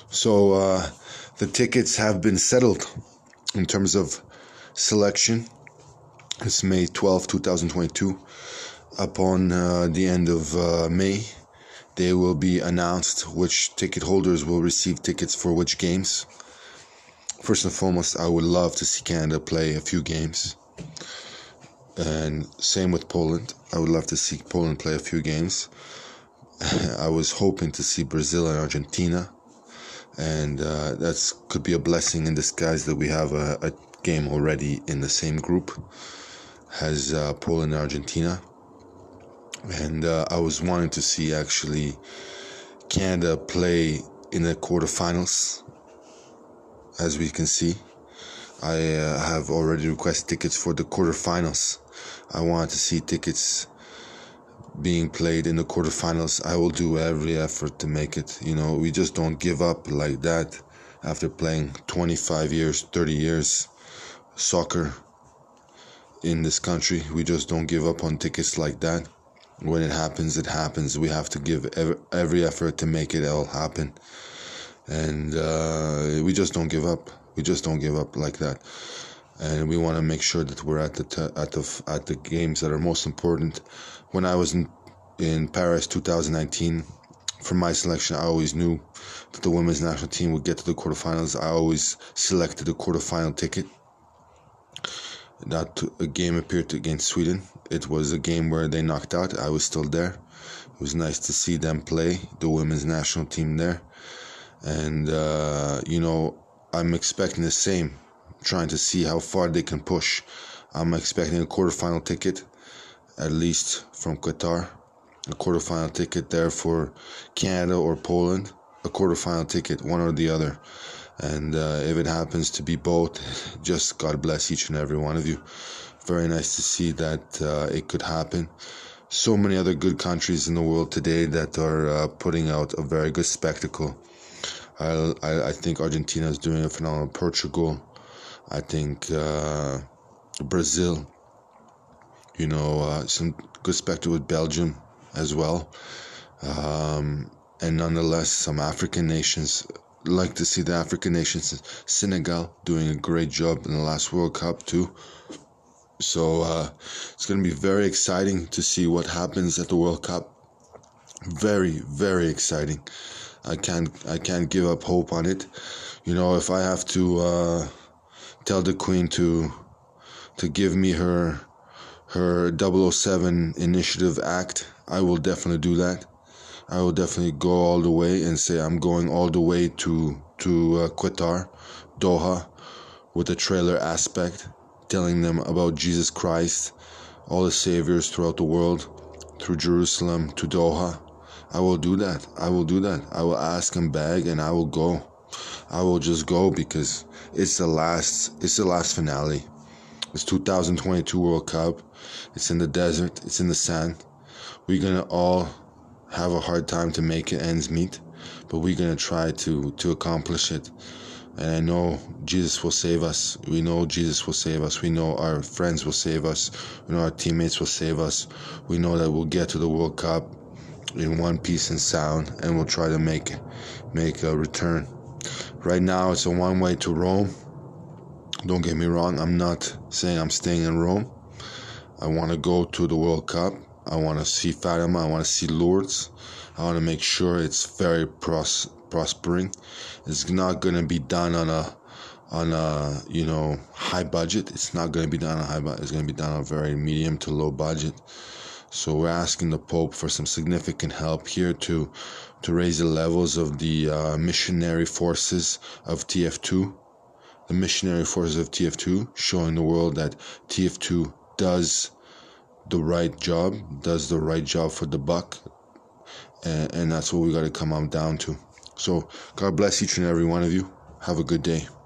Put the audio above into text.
So the tickets have been settled in terms of selection. It's May 12, 2022. Upon the end of May, they will be announced which ticket holders will receive tickets for which games. First and foremost, I would love to see Canada play a few games. And same with Poland. I would love to see Poland play a few games. I was hoping to see Brazil and Argentina. And that could be a blessing in disguise that we have a game already in the same group as Poland and Argentina. And I was wanting to see actually Canada play in the quarterfinals. As we can see, I have already requested tickets for the quarterfinals. I wanted to see tickets being played in the quarterfinals. I will do every effort to make it. We just don't give up like that after playing 25 years, 30 years soccer in this country. We just don't give up on tickets like that. When it happens, it happens. We have to give every effort to make it all happen. And we just don't give up. We just don't give up like that. And we want to make sure that we're at the games that are most important. When I was in Paris 2019, for my selection, I always knew that the women's national team would get to the quarterfinals. I always selected the quarterfinal ticket. That a game appeared against Sweden. It was a game where they knocked out. I was still there. It was nice to see them play, the women's national team there. And, I'm expecting the same, trying to see how far they can push. I'm expecting a quarterfinal ticket, at least from Qatar. A quarterfinal ticket there for Canada or Poland. A quarterfinal ticket, one or the other. And if it happens to be both, just God bless each and every one of you. Very nice to see that it could happen. So many other good countries in the world today that are putting out a very good spectacle. I think Argentina is doing a phenomenal. Portugal, I think Brazil, some good spectacle with Belgium as well. And nonetheless, some African nations, like to see the African nations, Senegal doing a great job in the last World Cup too. So it's going to be very exciting to see what happens at the World Cup. Very, very exciting. I can't give up hope on it. If I have to tell the Queen to give me her 007 initiative act, I will definitely do that. I will definitely go all the way and say I'm going all the way to Qatar, Doha, with a trailer aspect, telling them about Jesus Christ, all the saviors throughout the world, through Jerusalem to Doha. I will do that. I will ask and beg, and I will go. I will just go because it's the last finale. It's 2022 World Cup. It's in the desert. It's in the sand. We're gonna all have a hard time to make it ends meet, but we're gonna try to accomplish it. And I know Jesus will save us. We know Jesus will save us. We know our friends will save us. We know our teammates will save us. We know that we'll get to the World Cup in one piece and sound, and we'll try to make a return. Right now, it's a one-way to Rome. Don't get me wrong. I'm not saying I'm staying in Rome. I want to go to the World Cup. I want to see Fatima. I want to see Lourdes. I want to make sure it's very prospering. It's not going to be done on a high budget. It's not going to be done on a high budget. It's going to be done on a very medium to low budget. So we're asking the Pope for some significant help here to raise the levels of the missionary forces of TF2. The missionary forces of TF2, showing the world that TF2 does the right job for the buck. And that's what we got to come on down to. So God bless each and every one of you. Have a good day.